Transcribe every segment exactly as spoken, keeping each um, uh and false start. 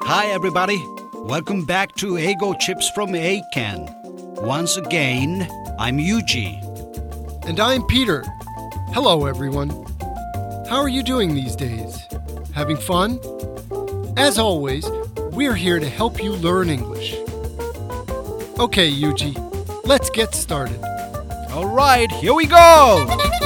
Hi everybody. Welcome back to Eigo Chips from Eiken. Once again, I'm Yuji. And I'm Peter. Hello everyone. How are you doing these days? Having fun? As always, we're here to help you learn English. Okay, Yuji, let's get started. All right, here we go.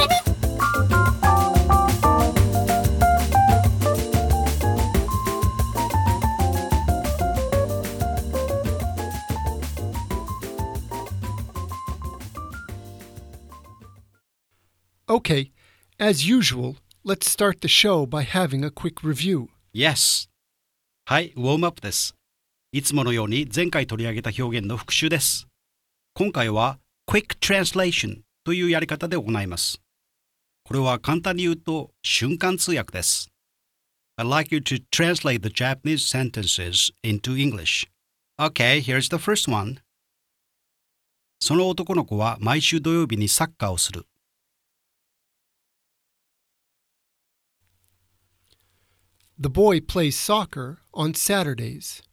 Okay, as usual, let's start the show by having a quick review. Yes. はい、ウォームアップです。いつものように前回取り上げた表現の復習です。今回は Quick Translation というやり方で行います。これは簡単に言うと瞬間通訳です。I'd like you to translate the Japanese sentences into English. Okay, here's the first one. その男の子は毎週土曜日にサッカーをする。 The boy plays soccer on Saturdays.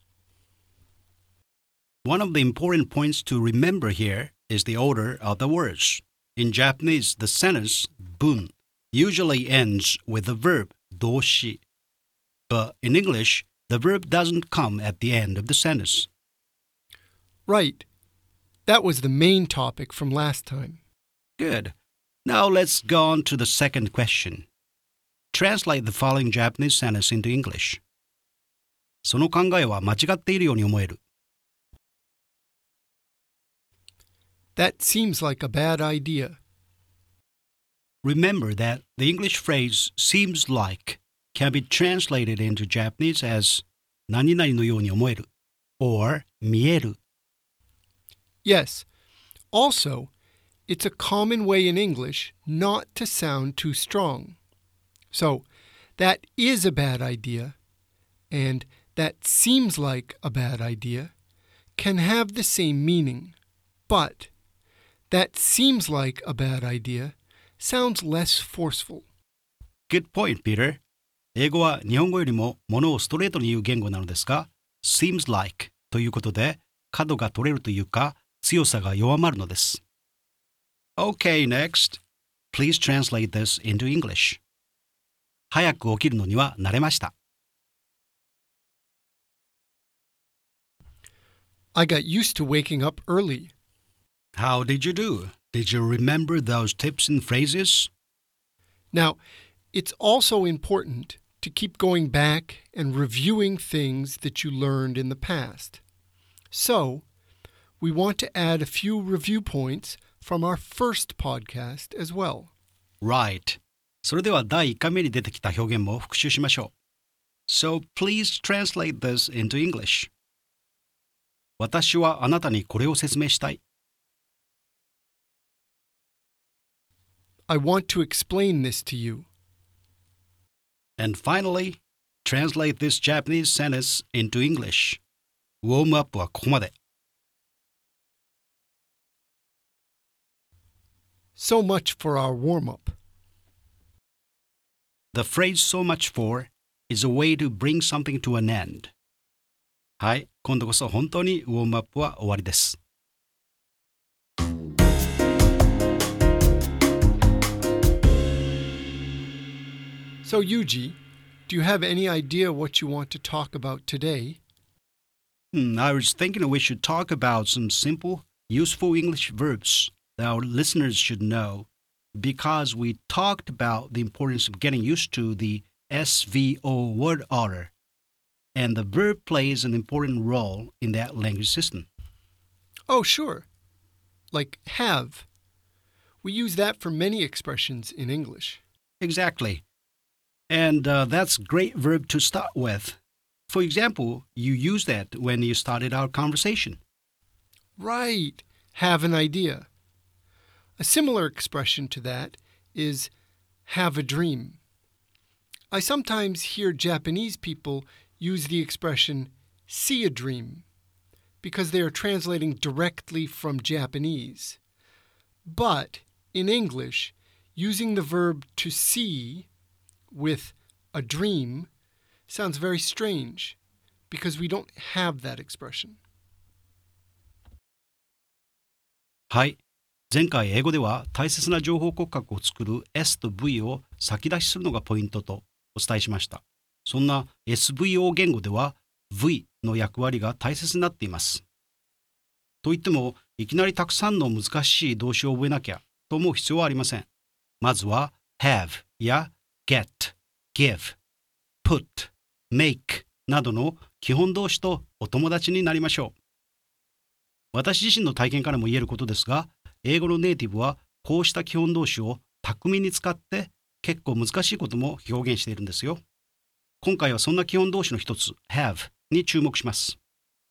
One of the important points to remember here is the order of the words. In Japanese, the sentence 文 usually ends with the verb 動詞. But in English, the verb doesn't come at the end of the sentence. Right. That was the main topic from last time. Good. Now let's go on to the second question. Translate the following Japanese sentence into English. その考えは間違っているように思える。 That seems like a bad idea. Remember that the English phrase seems like can be translated into Japanese as 何々のように思える or 見える. Yes. Also, it's a common way in English not to sound too strong. So, that is a bad idea, and that seems like a bad idea can have the same meaning. But that seems like a bad idea sounds less forceful. Good point, Peter. 英語は日本語よりもものをストレートに言う言語なのですが、seems like ということで角が取れるというか強さが弱まるのです。Okay, next. Please translate this into English. 早く起きるのには慣れました。 I got used to waking up early. How did you do? Did you remember those tips and phrases? Now, it's also important to keep going back and reviewing things that you learned in the past. So, we want to add a few review points from our first podcast as well. Right. それでは第いっかいめに出てきた表現も復習しましょう。So please translate this into English. 私はあなたにこれを説明したい。 I want to explain this to you. And finally, translate this Japanese sentence into English. ウォームアップはここまで。 So much for our warm-up. The phrase so much for is a way to bring something to an end. はい、今度こそ本当にウォームアップは終わりです。 So, Yuji, do you have any idea what you want to talk about today? Hmm, I was thinking we should talk about some simple, useful English verbs that our listeners should know, because we talked about the importance of getting used to the S V O word order, and the verb plays an important role in that language system. Oh, sure. Like have. We use that for many expressions in English. Exactly. And uh, that's a great verb to start with. For example, you used that when you started our conversation. Right. Have an idea. A similar expression to that is have a dream. I sometimes hear Japanese people use the expression see a dream because they are translating directly from Japanese. But in English, using the verb to see with a dream sounds very strange because we don't have that expression. はい。前回英語では大切な情報骨格を作る エス と ブイ を先出しするのがポイントとお伝えしました。そんな エスブイオー 言語では ブイ の役割が大切になっています。といっても、いきなりたくさんの難しい動詞を覚えなきゃと思う必要はありません。まずは have や get、give、put、make などの基本動詞とお友達になりましょう。私自身の体験からも言えることですが、英語のネイティブはこうした基本動詞を巧みに使って結構難しいことも表現しているんですよ。今回はそんな基本動詞の一つ have に注目します。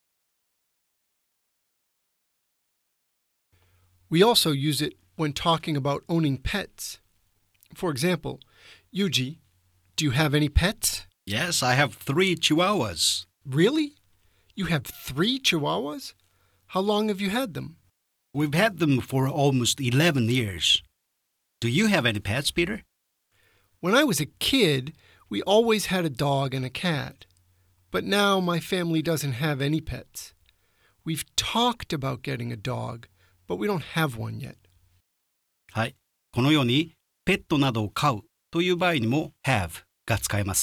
We also use it when talking about owning pets. For example, Yuji, do you have any pets? Yes, I have three chihuahuas. Really? You have three chihuahuas? How long have you had them? We've had them for almost eleven years. Do you have any pets, Peter? When I was a kid, we always had a dog and a cat. But now my family doesn't have any pets. We've talked about getting a dog, but we don't have one yet. はい。このように、ペットなどを飼うという場合にも have が使えます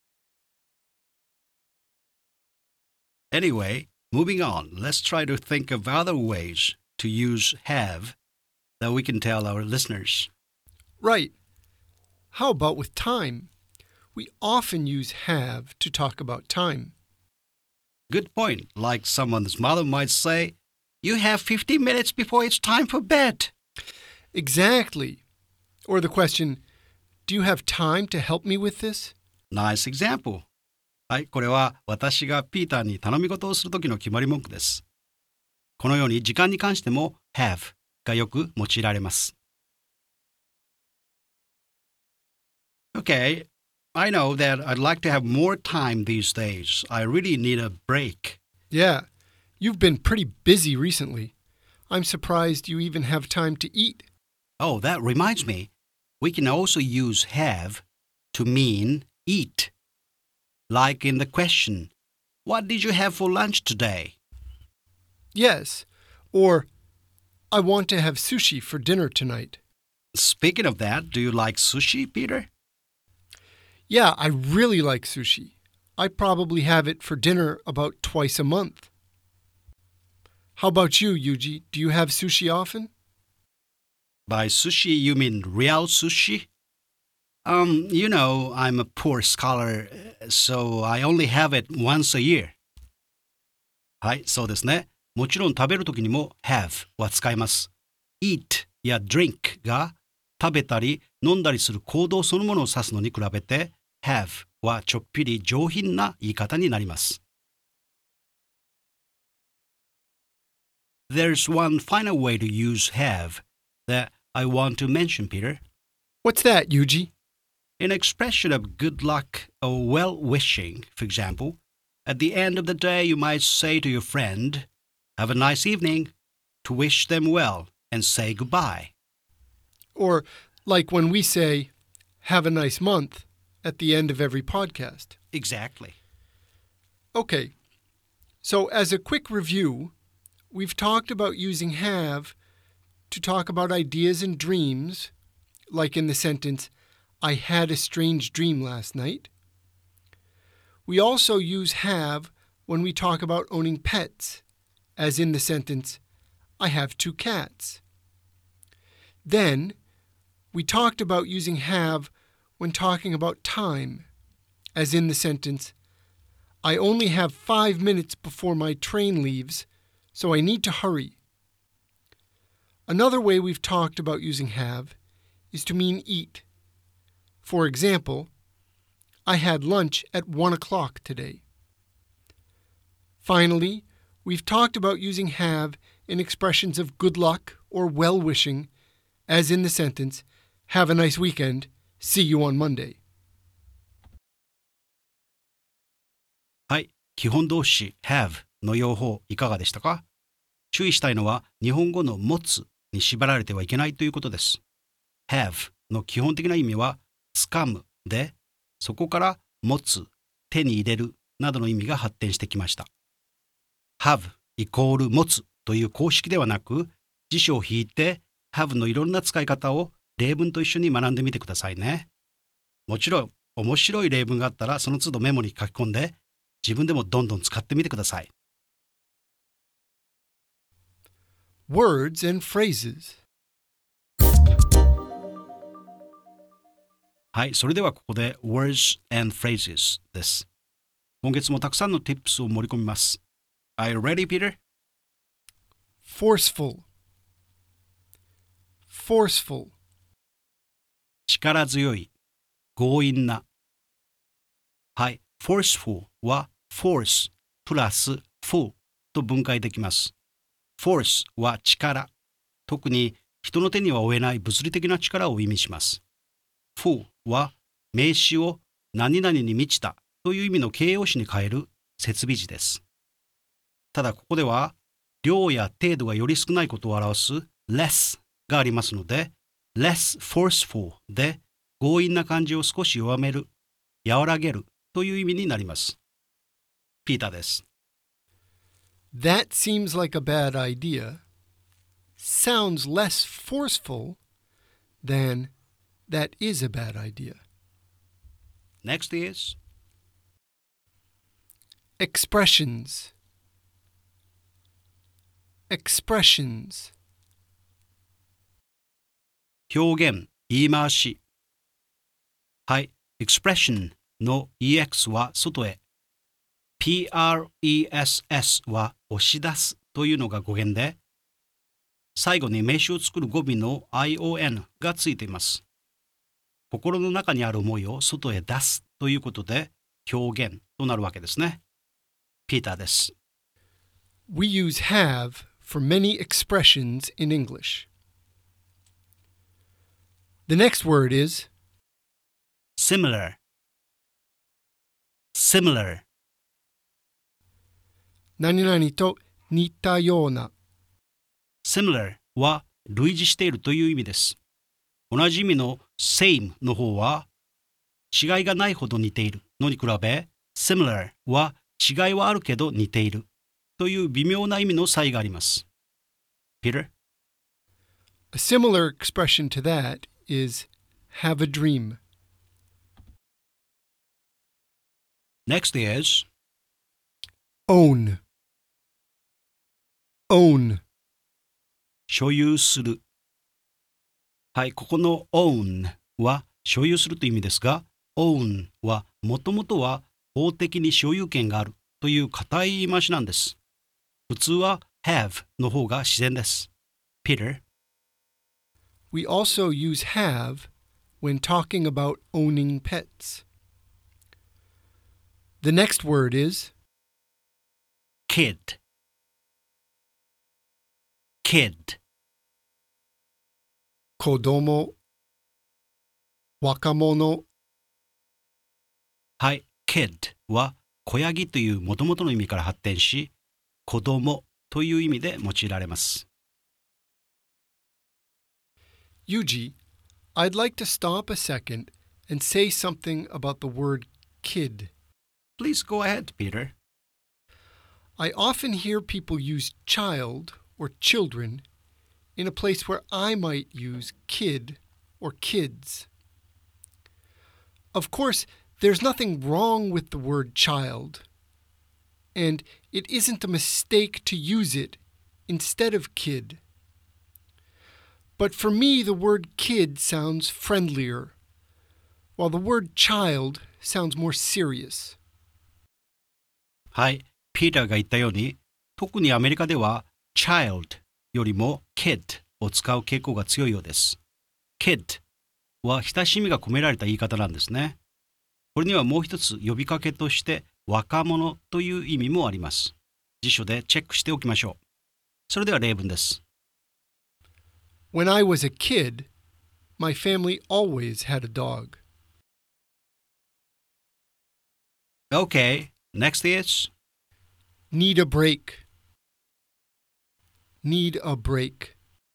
。Anyway, moving on, let's try to think of other ways to use have that we can tell our listeners. Right. How about with time? We often use have to talk about time. Good point. Like someone's mother might say, you have fifteen minutes before it's time for bed. Exactly. Or the question, do you have time to help me with this? Nice example. はい、これは私がピーターに頼み事をするときの決まり文句です。このように時間に関しても have がよく用いられます。Okay, I know that I'd like to have more time these days. I really need a break. Yeah, you've been pretty busy recently. I'm surprised you even have time to eat. Oh, that reminds me. We can also use have to mean eat. Like in the question, what did you have for lunch today? Yes, or I want to have sushi for dinner tonight. Speaking of that, do you like sushi, Peter? Yeah, I really like sushi. I probably have it for dinner about twice a month. How about you, Yuji? Do you have sushi often? By sushi, you mean real sushi? Um, you know, I'm a poor scholar, so I only have it once a year. はい、そうですね。もちろん食べるときにも have は使います。eat や drink が食べたり飲んだりする行動そのものを指すのに比べて have はちょっぴり上品な言い方になります。There's one final way to use have that I want to mention, Peter. What's that, Yuji? An expression of good luck or well-wishing, for example, at the end of the day you might say to your friend, have a nice evening, to wish them well and say goodbye. Or like when we say, have a nice month at the end of every podcast. Exactly. Okay, so as a quick review, we've talked about using have to talk about ideas and dreams, like in the sentence, I had a strange dream last night. We also use have when we talk about owning pets, as in the sentence, I have two cats. Then, we talked about using have when talking about time, as in the sentence, I only have five minutes before my train leaves, so I need to hurry. Another way we've talked about using have is to mean eat. For example, I had lunch at one o'clock today. Finally, we've talked about using have in expressions of good luck or well-wishing, as in the sentence, have a nice weekend, see you on Monday. はい、基本動詞 have の用法いかがでしたか？注意したいのは日本語の持つに縛られてはいけないということです。have の基本的な意味は掴むで、そこから持つ、手に入れるなどの意味が発展してきました。have イコール持つという公式ではなく、辞書を引いて have のいろんな使い方を例文と一緒に学んでみてくださいね。もちろん、面白い例文があったらその都度メモに書き込んで、自分でもどんどん使ってみてください。 Words and phrases. はい、それではここで Words and Phrases です。今月もたくさんの tips を盛り込みます。Are you ready, Peter? Forceful. Forceful. 力強い、強引な。はい、forceful は force プラス full と分解できます。force は力、特に人の手には負えない物理的な力を意味します。full は名詞を何々に満ちたという意味の形容詞に変える設備詞です。ただここでは量や程度がより少ないことを表す less がありますので、less forceful で強引な感じを少し弱める、和らげるという意味になります。ピーターです。 That seems like a bad idea. Sounds less forceful than that is a bad idea. Next is Expressions. Expressions. 表現、言い回し。はい、expression の ex は外へ。press は押し出すというのが語源で、最後に名詞を作る語尾の ion がついています。心の中にある思いを外へ出すということで表現となるわけですね。ピーターです。 We use have for many expressions in English. The next word is similar. similar. 何々と似たような。 similar は類似しているという意味です。同じ意味の same の方は違いがないほど似ているのに比べ similar は違いはあるけど似ているという微妙な意味の差異があります。Peter? A similar expression to that is have a dream. Next is Own. Own. 所有する。はい、ここの own は所有するという意味ですが、own はもともとは法的に所有権があるという固い言い回しなんです。普通は have の方が自然です。Peter? We also use have when talking about owning pets. The next word is kid. kid. 子供、若者。 はい、kid は子ヤギという元々の意味から発展し、子供という意味で用いられます。 Yuji, I'd like to stop a second and say something about the word kid. Please go ahead, Peter. I often hear people use child or children in a place where I might use kid or kids. Of course, there's nothing wrong with the word child, and it isn't a mistake to use it instead of kid. But for me, the word kid sounds friendlier, while the word child sounds more serious. はい、ピーターが言ったように、特にアメリカでは child よりも kid を使う傾向が強いようです。kid は親しみが込められた言い方なんですね。これにはもう一つ呼びかけとして若者という意味もあります。辞書でチェックしておきましょう。それでは例文です。 When I was a kid, my family always had a dog. Okay, next is Need a break. Need a break.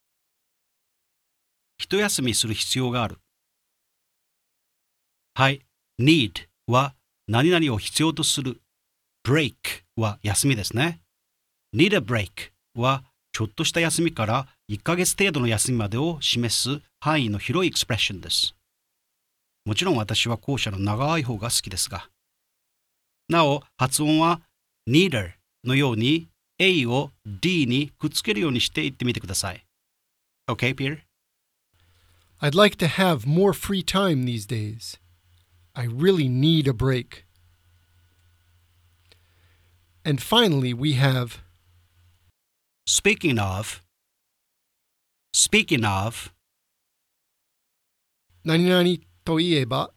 一休みする必要がある。はい、need は何々を必要とする break は休みですね。need a break はちょっとした休みからいっかげつ程度の休みまでを示す範囲の広いエクスプレッションです。もちろん私は後者の長い方が好きですが。なお、発音は neither のように A を D にくっつけるようにして言ってみてください。Okay, Peter? I'd like to have more free time these days. I really need a break. And finally, we have Speaking of, speaking of, 何々といえば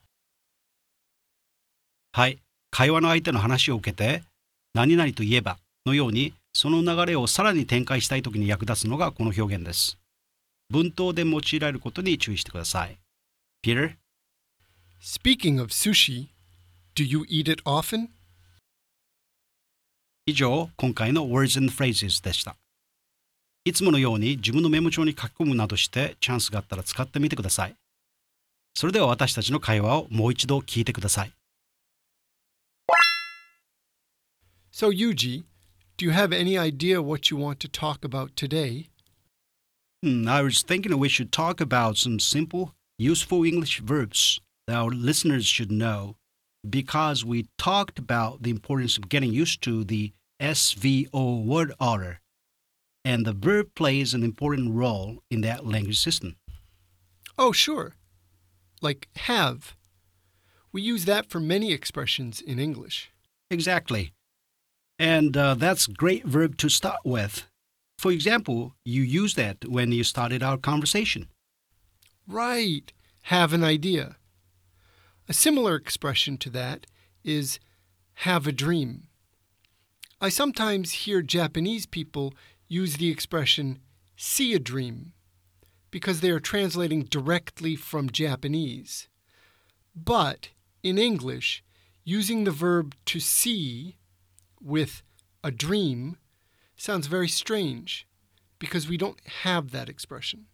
はい、会話の相手の話を受けて、何々といえばのように、その流れをさらに展開したいときに役立つのがこの表現です。文頭で用いられることに注意してください。Peter? Speaking of sushi, do you eat it often? 以上、今回の Words and Phrases でした。いつものように自分のメモ帳に書き込むなどしてチャンスがあったら使ってみてください。それでは私たちの会話をもう一度聞いてください。 So, Yuji, do you have any idea what you want to talk about today? Hmm, I was thinking we should talk about some simple, useful English verbs that our listeners should know, because we talked about the importance of getting used to the S V O word order, and the verb plays an important role in that language system. Oh, sure. Like have. We use that for many expressions in English. Exactly. And uh, that's a great verb to start with. For example, you used that when you started our conversation. Right. Have an idea. A similar expression to that is have a dream. I sometimes hear Japanese people use the expression see a dream because they are translating directly from Japanese. But in English, using the verb to see with a dream sounds very strange because we don't have that expression.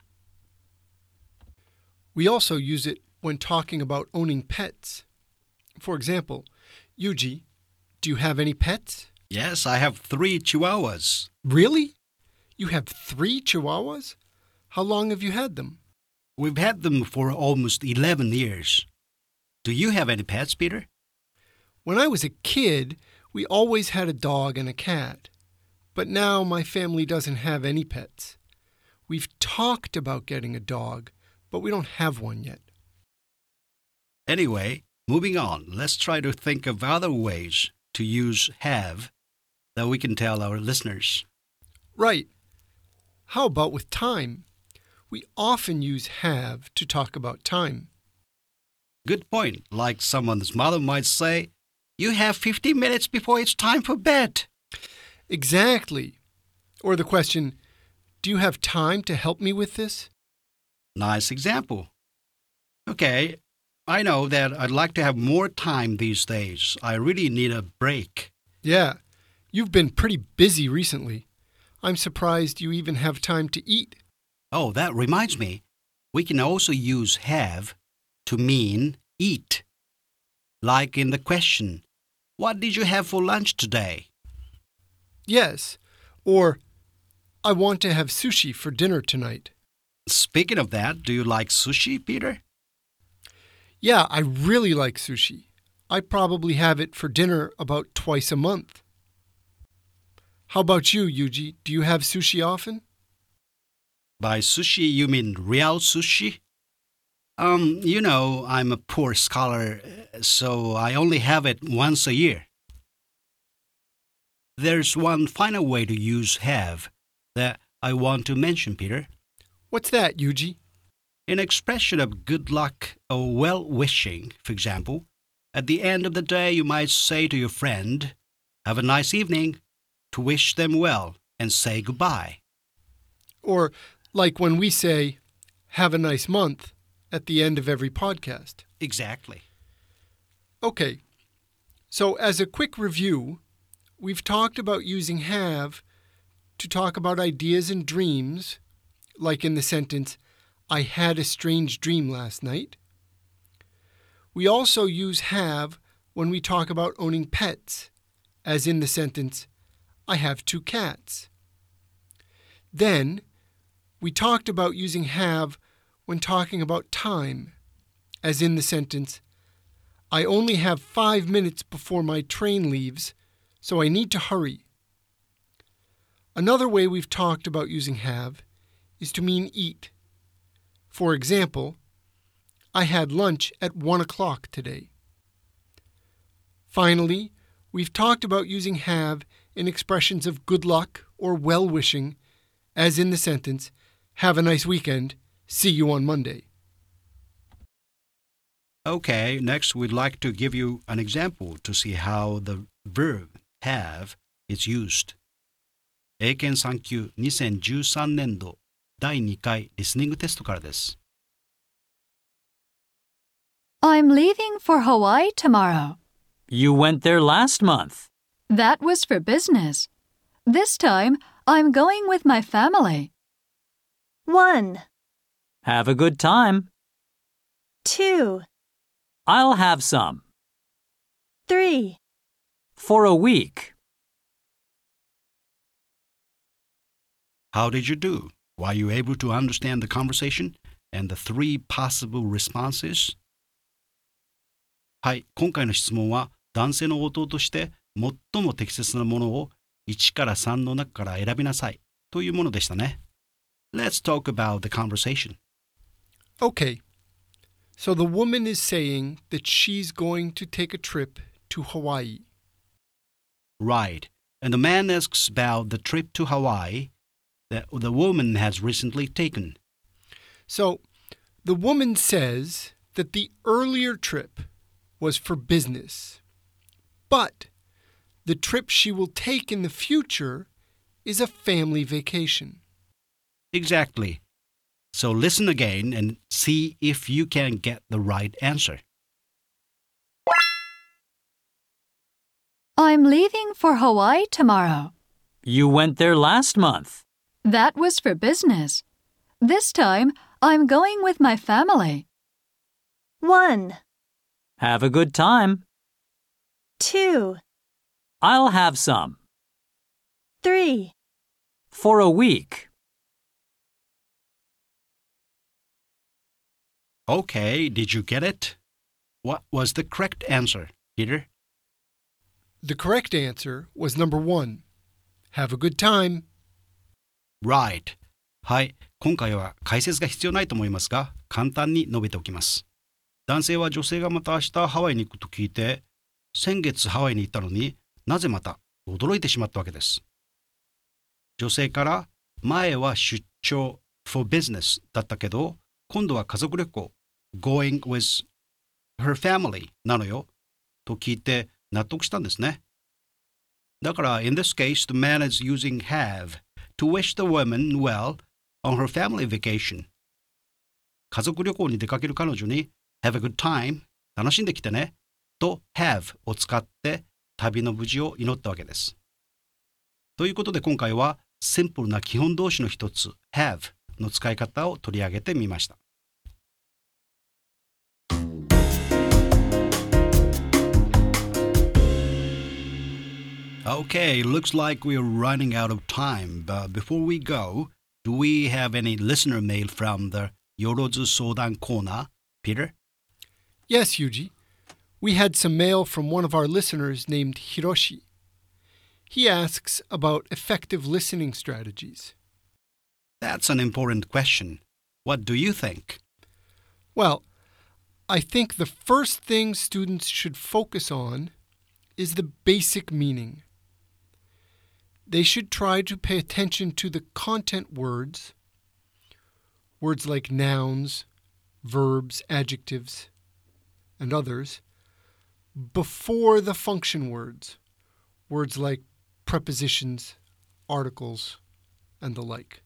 We also use it when talking about owning pets. For example, Yuji, do you have any pets? Yes, I have three chihuahuas. Really? You have three chihuahuas? How long have you had them? We've had them for almost eleven years. Do you have any pets, Peter? When I was a kid, we always had a dog and a cat. But now my family doesn't have any pets. We've talked about getting a dog, but we don't have one yet. Anyway, moving on, let's try to think of other ways to use have that we can tell our listeners. Right. How about with time? We often use have to talk about time. Good point. Like someone's mother might say, you have fifteen minutes before it's time for bed. Exactly. Or the question, do you have time to help me with this? Nice example. Okay, I know that I'd like to have more time these days. I really need a break. Yeah, you've been pretty busy recently. I'm surprised you even have time to eat. Oh, that reminds me. We can also use have to mean eat. Like in the question, what did you have for lunch today? Yes, or I want to have sushi for dinner tonight. Speaking of that, do you like sushi, Peter? Yeah, I really like sushi. I probably have it for dinner about twice a month. How about you, Yuji? Do you have sushi often? By sushi, you mean real sushi? Um, you know, I'm a poor scholar, so I only have it once a year. There's one final way to use have that I want to mention, Peter. What's that, Yuji? An expression of good luck or well-wishing, for example, at the end of the day you might say to your friend, have a nice evening, to wish them well and say goodbye. Or like when we say, have a nice month at the end of every podcast. Exactly. Okay, so as a quick review, we've talked about using have to talk about ideas and dreams, like in the sentence, I had a strange dream last night. We also use have when we talk about owning pets, as in the sentence, I have two cats. Then, we talked about using have when talking about time, as in the sentence, I only have five minutes before my train leaves, so I need to hurry. Another way we've talked about using have is to mean eat. For example, I had lunch at one o'clock today. Finally, we've talked about using have in expressions of good luck or well-wishing, as in the sentence, have a nice weekend, see you on Monday. Okay, next we'd like to give you an example to see how the verb have is used. 英検さん級にせんじゅうさんねん度だいにかいリスニングテストからです。 I'm leaving for Hawaii tomorrow. You went there last month. That was for business. This time, I'm going with my family. One, Have a good time. two, I'll have some. three. For a week. How did you do? Were you able to understand the conversation and the three possible responses? はい、今回の質問は男性の応答として最も適切なものをいちからさんの中から選びなさいというものでしたね。Let's talk about the conversation. Okay, so the woman is saying that she's going to take a trip to Hawaii. Right, and the man asks about the trip to Hawaii that the woman has recently taken. So the woman says that the earlier trip was for business, but the trip she will take in the future is a family vacation. Exactly. So listen again and see if you can get the right answer. I'm leaving for Hawaii tomorrow. You went there last month. That was for business. This time, I'm going with my family. One, Have a good time. two, I'll have some. three. For a week. Okay, did you get it? What was the correct answer, Peter? The correct answer was number one. Have a good time. Right. はい、今回は解説が必要ないと思いますが、簡単に述べておきます。男性は女性がまた明日ハワイに行くと聞いて、先月ハワイに行ったのになぜまた驚いてしまったわけです。女性から前は出張 for business だったけど、今度は家族旅行 going with her family なのよと聞いて納得したんですね。だから in this case the man is using have to wish the woman well on her family vacation. 家族旅行に出かける彼女に have a good time 楽しんできてねと have を使って旅の無事を祈ったわけです。ということで今回はシンプルな基本動詞の一つ have の使い方を取り上げてみました。Okay, looks like we're running out of time, but before we go, do we have any listener mail from the Yorozu Sodan corner, Peter? Yes, Yuji. We had some mail from one of our listeners named Hiroshi. He asks about effective listening strategies. That's an important question. What do you think? Well, I think the first thing students should focus on is the basic meaning. They should try to pay attention to the content words, words like nouns, verbs, adjectives, and others, before the function words, words like prepositions, articles, and the like.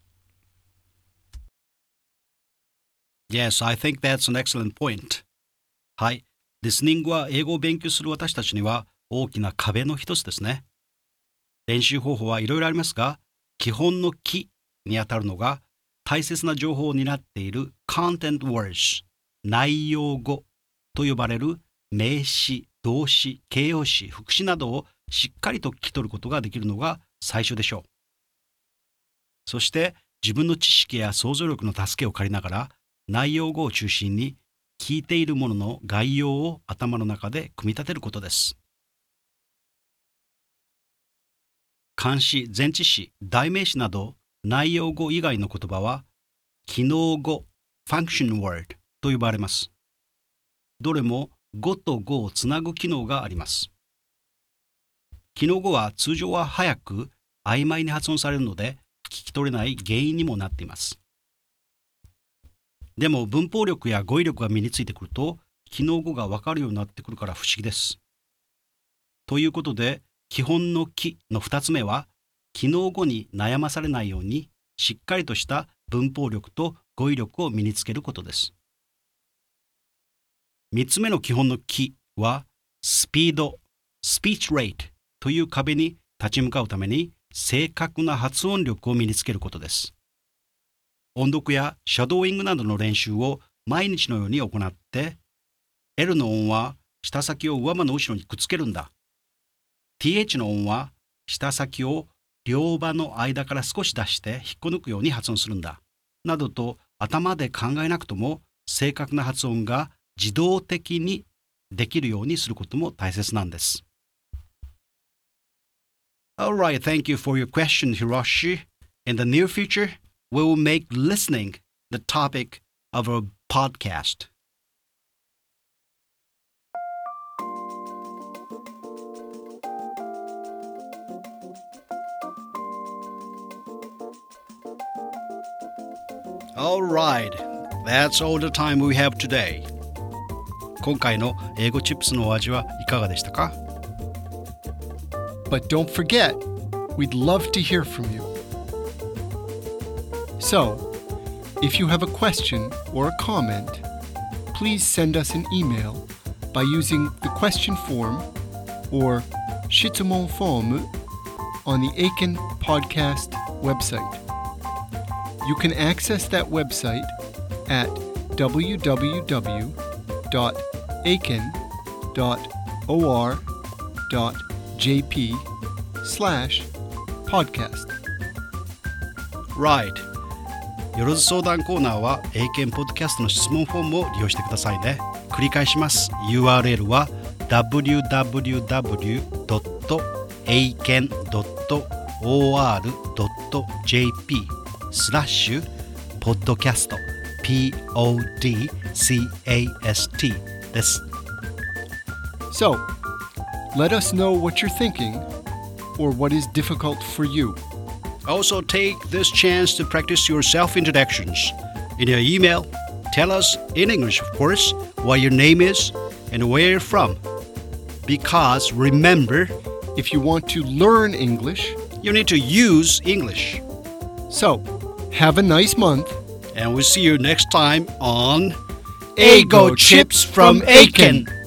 Yes, I think that's an excellent point. はい、リスニングは英語を勉強する私たちには大きな壁の一つですね。練習方法はいろいろありますが、基本のキにあたるのが大切な情報を担っている content words、内容語と呼ばれる名詞、動詞、形容詞、副詞などをしっかりと聞き取ることができるのが最初でしょう。そして自分の知識や想像力の助けを借りながら内容語を中心に聞いているものの概要を頭の中で組み立てることです。漢詩、前置詞、代名詞など内容語以外の言葉は機能語 function word と呼ばれます。どれも語と語をつなぐ機能があります。機能語は通常は早く曖昧に発音されるので聞き取れない原因にもなっています。でも文法力や語彙力が身についてくると機能語がわかるようになってくるから不思議です。ということで基本のきのふたつめは機能語に悩まされないようにしっかりとした文法力と語彙力を身につけることです。みっつめの基本のきはスピード、スピーチレートという壁に立ち向かうために正確な発音力を身につけることです。音読やシャドーイングなどの練習を毎日のように行って、L の音は舌先を上歯の後ろにくっつけるんだ。ティーエイチ の音は舌先を両歯の間から少し出して引っこ抜くように発音するんだ。などと頭で考えなくとも正確な発音が自動的にできるようにすることも大切なんです。Alright, thank you for your question, Hiroshi. In the near future, we will make listening the topic of our podcast. Alright, that's all the time we have today. 今回の英語チップスのお味はいかがでしたか？ But don't forget, we'd love to hear from you. So, if you have a question or a comment, please send us an email by using the question form or 質問フォーム on the Aiken Podcast website. You can access that website at w w w dot aiken dot or dot j p slash podcast. Right. よろず相談コーナーは英検ポッドキャストの質問フォームを利用してくださいね。繰り返します。ユーアールエル は ダブリューダブリューダブリュードットエイケンドットオーアールドットジェーピースラッシュポッドキャスト ピーオーディーキャスト です。 So, let us know what you're thinking or what is difficult for you. Also take this chance to practice your self-introductions. In your email, tell us in English, of course, what your name is and where you're from. Because remember, If you want to learn English, you need to use English. so have a nice month. And we'll see you next time on Eigo Chips from Aiken.